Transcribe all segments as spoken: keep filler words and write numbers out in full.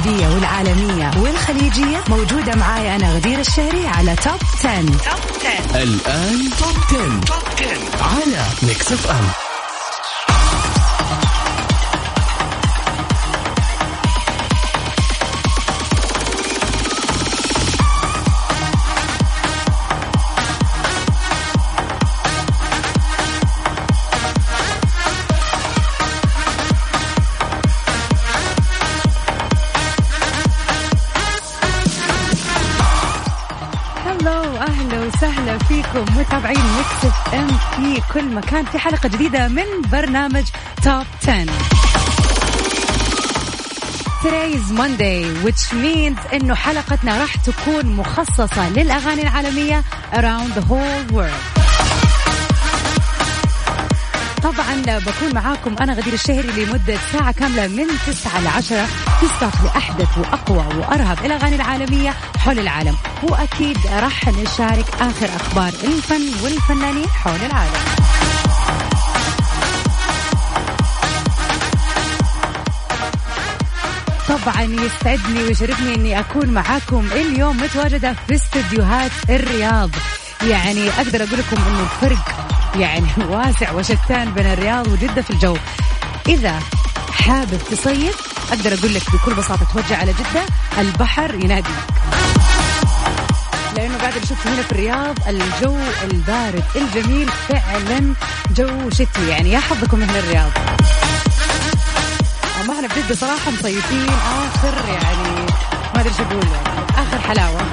العربية والعالمية والخليجية موجودة معاي أنا غدير الشهري على توب عشرة. توب عشرة الآن توب عشرة توب عشرة على ميكس اف ام. سهلا فيكم متابعين ميكس اف ام في كل مكان في حلقة جديدة من برنامج توب عشرة. Today is Monday, which means إنه حلقتنا راح تكون مخصصة للأغاني العالمية around the whole world. طبعا بكون معاكم أنا غدير الشهري لمدة ساعة كاملة من تسعة لعشرة تستاق لأحدث وأقوى وأرهب الأغاني العالمية حول العالم، وأكيد راح نشارك آخر أخبار الفن والفنانين حول العالم. طبعا يسعدني ويشرفني أني أكون معاكم اليوم متواجدة في استديوهات الرياض. يعني أقدر أقول لكم أنه الفرق يعني واسع وشتان بين الرياض وجدة في الجو. إذا حابب تصيف أقدر أقول لك بكل بساطة توجه على جدة، البحر يناديك، لأنه بعد اللي شفته هنا في الرياض الجو البارد الجميل فعلا جو شتوي. يعني يا حظكم من الرياض. أما احنا بجد صراحة مصيفين آخر يعني ما أدري شو أقول، يعني آخر حلاوة.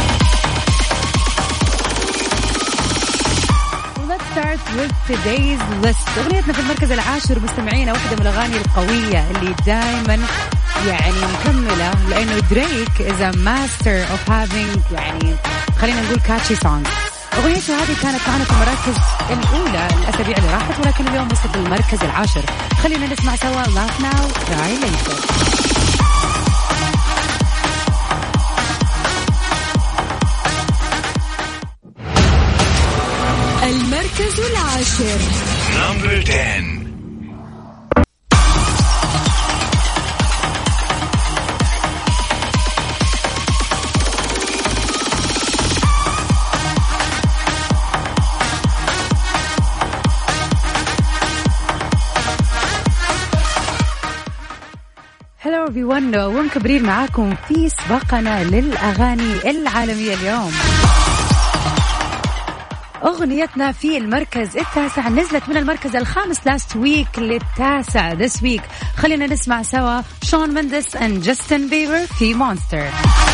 Start with today's list. أغنيتنا في المركز العاشر مستمعينا واحدة من الأغاني القوية اللي دائما يعني مكملة، لأنه دريك is a master of having يعني خلينا نقول catchy songs. أغنيته هذه كانت معنا في المراكز الأولى الأسابيع اللي راحت، ولكن اليوم وصلت المركز العاشر. خلينا نسمع سوا Laugh Now Cry Later. المركز العاشر Number ten. Hello everyone, ومكبرين معاكم في سباقنا للأغاني العالمية اليوم. أغنيتنا في المركز التاسع نزلت من المركز الخامس last week للتاسع this week. خلينا نسمع سوا شون مندس and جاستن بيبر في مونستر.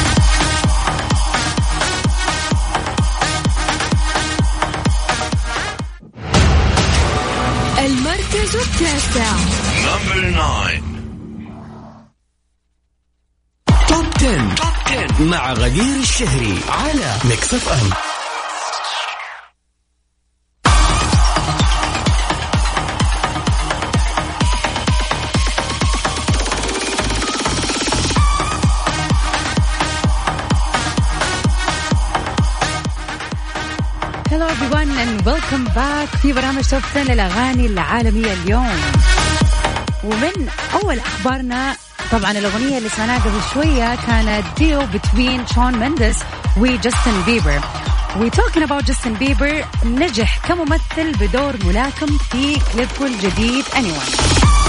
المركز التاسع Number nine. توب عشرة مع غدير الشهري على ميكس اف ام. Hello everyone and welcome back في برنامج توب عشرة للأغاني العالمية اليوم. ومن أول أخبارنا طبعا الأغنية اللي سمعناها قبل شوية كانت ديو between شون مندس وجاستن بيبر. We talking about جاستن بيبر نجح كممثل بدور ملاكم في كليبه الجديد Anyone.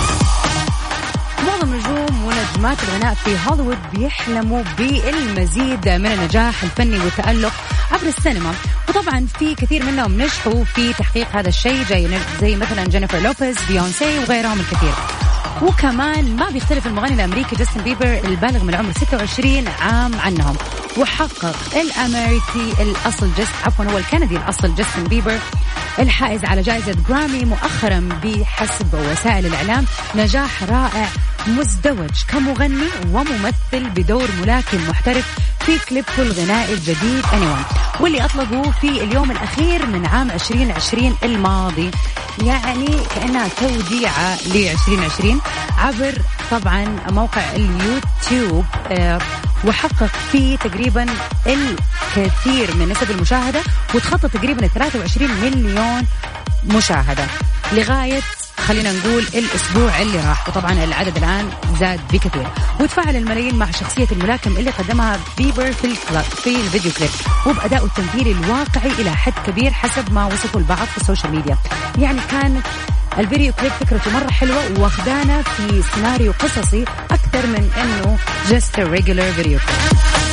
معظم نجوم ونجمات الغناء في هوليوود بيحلموا بالمزيد من النجاح الفني والتألق عبر السينما، وطبعا في كثير منهم نجحوا في تحقيق هذا الشيء زي زي مثلا جينيفر لوبيز، بيونسي وغيرهم الكثير. وكمان ما بيختلف المغني الأمريكي جاستن بيبر البالغ من العمر ستة وعشرين عام عنهم، وحقق الأمريكي الأصل جست عفوا هو الكندي الأصل جاستن بيبر الحائز على جائزة جرامي مؤخرا بحسب وسائل الإعلام نجاح رائع مزدوج كمغني وممثل بدور ملاكم محترف في كليبه الغنائي الجديد Anyone، واللي أطلقوه في اليوم الأخير من عام عشرين عشرين الماضي، يعني كأنها توديعة لعشرين عشرين عبر طبعا موقع اليوتيوب. آه وحقق فيه تقريبا الكثير من نسب المشاهدة، وتخطى تقريبا ثلاثة وعشرين مليون مشاهدة لغاية خلينا نقول الأسبوع اللي راح، وطبعا العدد الآن زاد بكثير. وتفاعل الملايين مع شخصية الملاكم اللي قدمها بيبر في الكلاب في الفيديو كليب، وبأداء التمثيلي الواقعي إلى حد كبير حسب ما وصفوا البعض في السوشيال ميديا. يعني كانت الفيديو كليب فكرته مرة حلوة واخدانا في سيناريو قصصي أكثر من إنه just a regular video clip.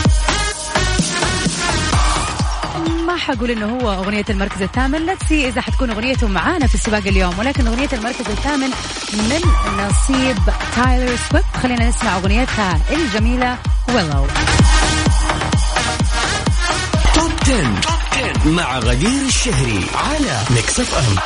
ما حقول إنه هو أغنية المركز الثامن، let's see إذا حتكون أغنيته معانا في السباق اليوم، ولكن أغنية المركز الثامن من نصيب تايلر سويفت. خلينا نسمع أغنيتها الجميلة Willow. توب عشرة مع غدير الشهري على ميكس اف ام.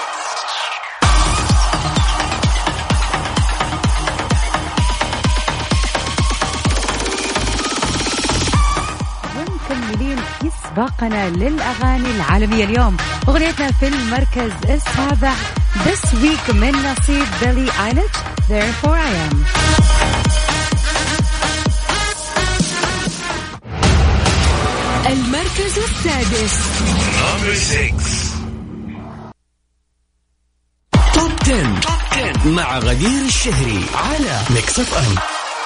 في سباقنا للأغاني العالمية اليوم، أغنيتنا في المركز السابع This Week من نصيب بيلي ايليش Therefore I Am. المركز السادس توب عشرة مع غدير الشهري على ميكس اف ام.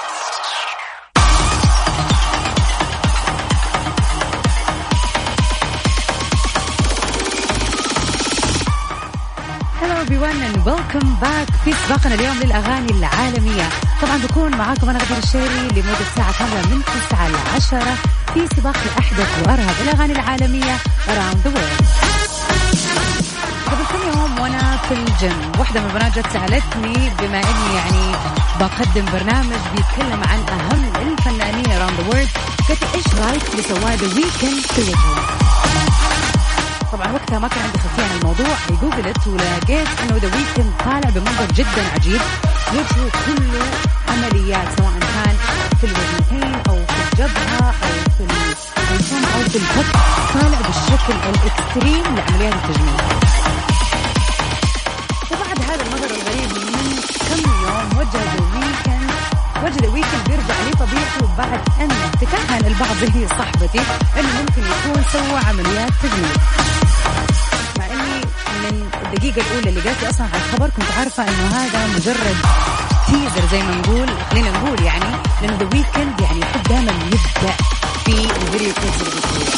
and welcome back في سباقنا اليوم للأغاني العالمية. طبعا بكون معاكم أنا غدير الشهري لمدة ساعة كاملة من تسعة لعشرة في سباق الأحدث وأرهب الأغاني العالمية around the world. قبل كم يوم وأنا في الجيم واحدة من البنات جت سألتني بما إني يعني بقدم برنامج بيتكلم عن أهم الفنانين around the world، قلت إيش رأيك بسواه The Weeknd في وجهه؟ طبعا وقتها ما كان عندي خلفية عن الموضوع، جوجلت ولقيت انه ذا ويكند طالع بمنظر جدا عجيب، وجهه كله عمليات سواء كان في الوجهتين او في الجبهة او في الفم او في الفك، طالع بالشكل الاكستريم لعمليات التجميل. وبعد هذا المظهر الغريب من كم يوم وجه ذا ويكند وجه ذا ويكند بيرجع لطبيعته بعد ان تكهن البعض زي صاحبتي انه ممكن يكون سوى عمليات تجميل. مع اني من الدقيقة الأولى اللي جاتي أصلا على الخبر كنت عارفة إنه هذا مجرد تيزر زي ما نقول، خلينا نقول يعني، لأن ذا ويكند يعني يحب دائما يبدأ في الفيديو كليبس اللي بيسويها.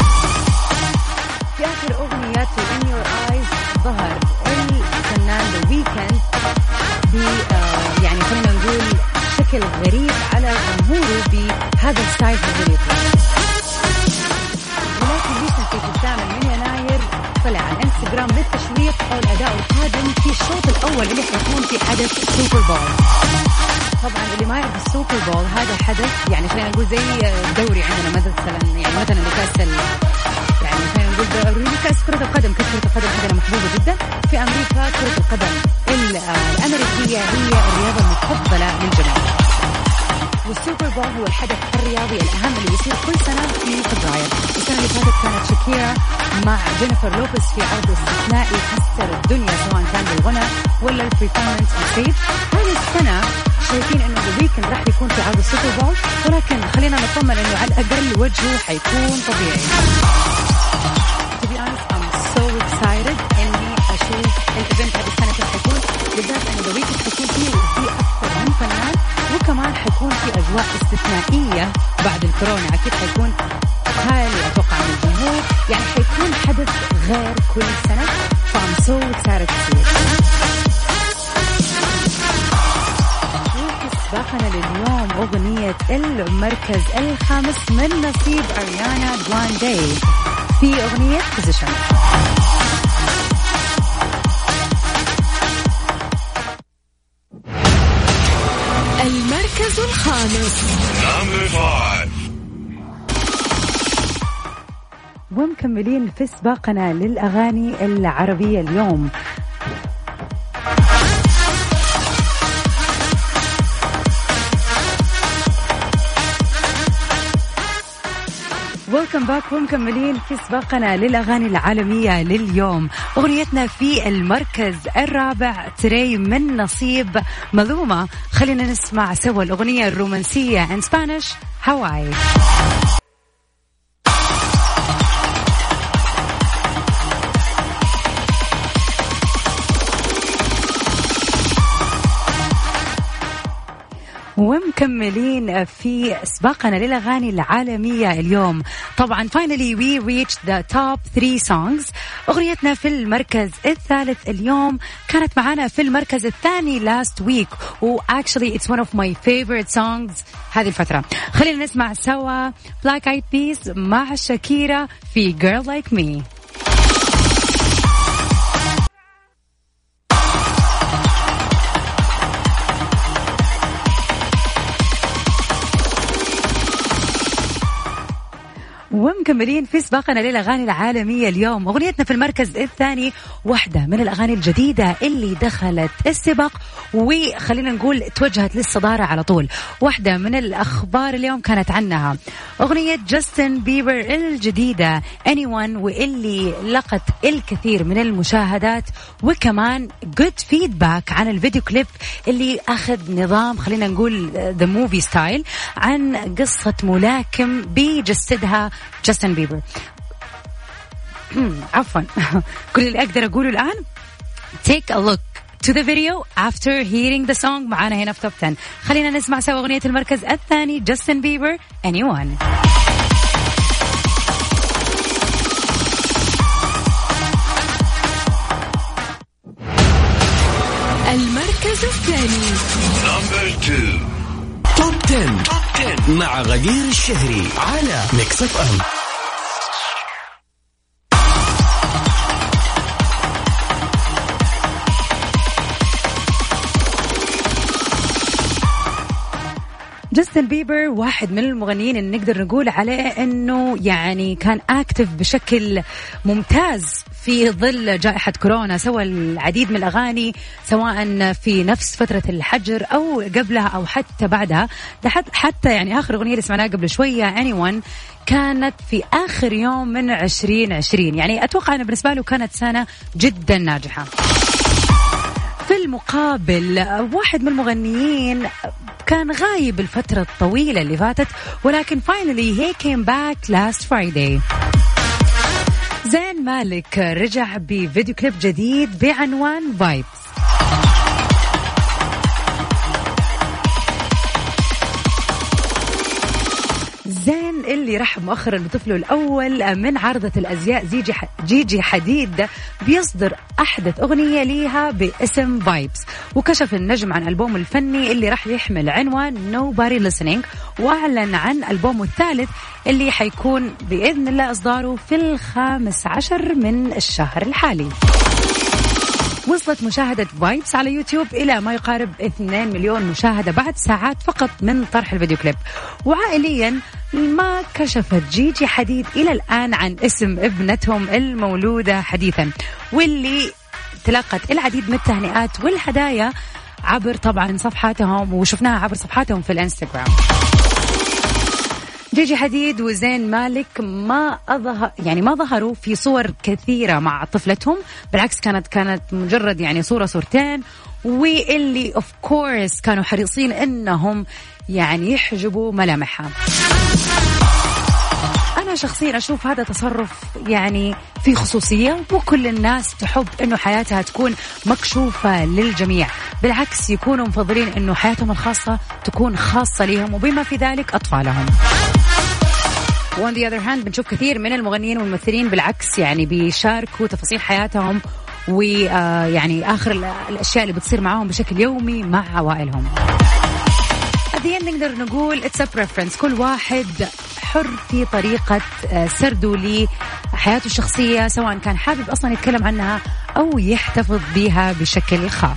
في آخر أغنياته In Your Eyes ظهر الفنان ذا ويكند ب يعني خلينا نقول شكل غريب على جمهوره بهذا الستايل في الفيديو كليب. ولكن ويكند في الثامن من يناير طلع على الانستغرام للتشويق او الاداء القادم في الشوط الاول اللي حيكون في حدث السوبر بول. طبعا اللي ما يعرف السوبر بول هذا حدث يعني خلينا نقول زي دوري عندنا مثلا، يعني مثلا لكاس يعني خلينا نقول دوري كاس كرة القدم. كاس كرة القدم عندنا محبوبة جدا في امريكا. كرة القدم الامريكية هي الرياضة المفضلة للجميع، والسوبر بول هو الحدث الرياضي الأهم اللي يصير كل سنة في فبراير. السنة اللي فاتت كانت شاكيرا مع جينيفر لوبيز في عرض استثنائي كسر الدنيا سواء كان بالغنى ولا البرفورمانس ستيج. هذه السنة شايفين إنه ذا ويكند راح يكون في عرض السوبر بول، ولكن خلينا نطمن إنه على الأقل وجهه حيكون طبيعي. To be honest, I'm so excited إني أشوف الإيفنت هذه السنة كيف حيكون، بالذات إنه ذا ويكند حيكون فيه فيه أكثر من فنان، وكمان حيكون في أجواء استثنائية بعد الكورونا. أكيد حيكون خالي أتوقع من الجمهور، يعني حيكون حدث غير كل سنة. فأم سو excited to see it. وفي سباقنا لليوم أغنية المركز الخامس من نصيب أريانا جراندي في أغنية Position. المركز الخامس ومكملين في سباقنا للأغاني العربية اليوم. ويلكم باك ومكملين في سباقنا للأغاني العالمية لليوم. أغنيتنا في المركز الرابع تري من نصيب ملومة. خلينا نسمع سوا الأغنية الرومانسية in Spanish Hawaii. ومكملين في سباقنا للأغاني العالمية اليوم. طبعا finally we reached the top three songs. أغنيتنا في المركز الثالث اليوم كانت معنا في المركز الثاني last week و actually it's one of my favorite songs هذه الفترة. خلينا نسمع سوا Black Eyed Peas مع شاكيرا في Girl Like Me. ومكملين في سباقنا للأغاني العالمية اليوم. أغنيتنا في المركز الثاني واحدة من الأغاني الجديدة اللي دخلت السباق وخلينا نقول توجهت للصدارة على طول. واحدة من الأخبار اليوم كانت عنها أغنية جاستن بيبر الجديدة Anyone واللي لقت الكثير من المشاهدات وكمان good feedback عن الفيديو كليب اللي أخذ نظام خلينا نقول the movie style عن قصة ملاكم بيجسدها جاستن بيبر. عفوا كل اللي أقدر أقوله الآن take a look to the video after hearing the song. معانا هنا في توب عشرة. خلينا نسمع سوا أغنية المركز الثاني جاستن بيبر Anyone. المركز الثاني number two توب عشرة مع غدير الشهري على ميكس اف ام. جاستن بيبر واحد من المغنيين اللي نقدر نقول عليه انه يعني كان اكتف بشكل ممتاز في ظل جائحة كورونا. سوى العديد من الأغاني سواء في نفس فترة الحجر أو قبلها أو حتى بعدها. حتى يعني آخر أغنية اللي سمعناها قبل شوية Anyone كانت في آخر يوم من عشرين عشرين. يعني أتوقع أن بالنسبة له كانت سنة جدا ناجحة. في المقابل واحد من المغنيين كان غايب الفترة الطويلة اللي فاتت ولكن finally he came back last Friday. زين مالك رجع بفيديو كليب جديد بعنوان Vibes. زين اللي رحب مؤخرا بطفله الأول من عارضة الأزياء جيجي جيجي حديد بيصدر أحدث أغنية ليها باسم Vibes. وكشف النجم عن ألبوم الفني اللي راح يحمل عنوان Nobody Listening وأعلن عن ألبومه الثالث اللي حيكون بإذن الله إصداره في الخامس عشر من الشهر الحالي. وصلت مشاهدة فايبس على يوتيوب إلى ما يقارب اثنين مليون مشاهدة بعد ساعات فقط من طرح الفيديو كليب. وعائليا ما كشفت جيجي حديد إلى الآن عن اسم ابنتهم المولودة حديثا واللي تلقت العديد من التهنئات والهدايا عبر طبعا صفحاتهم وشفناها عبر صفحاتهم في الانستغرام. جيجي حديد وزين مالك ما أظهر يعني ما ظهروا في صور كثيرة مع طفلتهم، بالعكس كانت كانت مجرد يعني صورة صورتين، واللي اوف كورس كانوا حريصين انهم يعني يحجبوا ملامحها. أنا شخصيا أشوف هذا تصرف يعني في خصوصية، وكل الناس تحب إنه حياتها تكون مكشوفة للجميع، بالعكس يكونوا مفضلين إنه حياتهم الخاصة تكون خاصة لهم وبما في ذلك أطفالهم. وon the other hand بنشوف كثير من المغنيين والممثلين بالعكس يعني بيشاركوا تفاصيل حياتهم ويعني آخر الأشياء اللي بتصير معهم بشكل يومي مع عوائلهم. هذه نقدر نقول it's a preference، كل واحد حر في طريقة سرده لحياته الشخصية، سواء كان حابب أصلا يتكلم عنها أو يحتفظ بها بشكل خاص.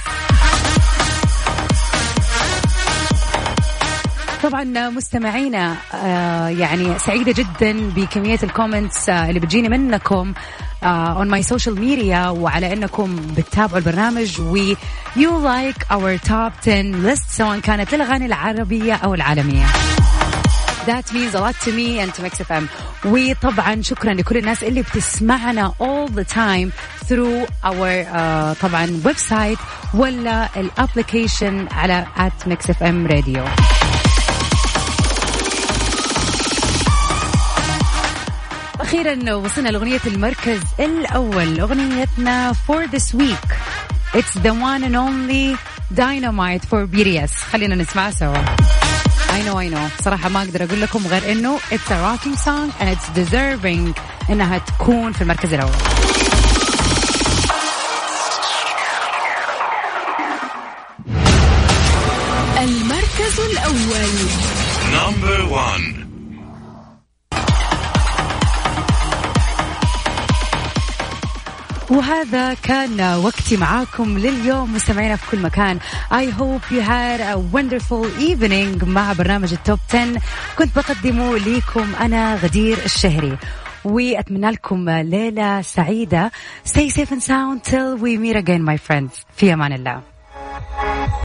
طبعا مستمعينا يعني سعيدة جدا بكمية الكومنتس اللي بتجيني منكم Uh, on my social media وعلى أنكم بتتابعوا البرنامج و you like our top ten list سواء كانت للأغاني العربية أو العالمية. That means a lot to me and to Mix إف إم. وطبعا شكرا لكل الناس اللي بتسمعنا all the time through our uh, طبعا ويب سايت ولا الابليكيشن على at Mix إف إم Radio. أخيرا وصلنا لأغنية المركز الأول، أغنيتنا for this week it's the one and only Dynamite for بي تي إس. خلينا نسمع سوا. I know I know صراحة ما أقدر أقول لكم غير إنه it's a rocking song and it's deserving إنها تكون في المركز الأول. المركز الأول. Number one. وهذا كان وقتي معاكم لليوم مستمعينا في كل مكان. I hope you had a wonderful evening مع برنامج التوب عشرة كنت بقدمه ليكم أنا غدير الشهري, وأتمنى لكم ليلة سعيدة. Stay safe and sound till we meet again my friends. في أمان الله.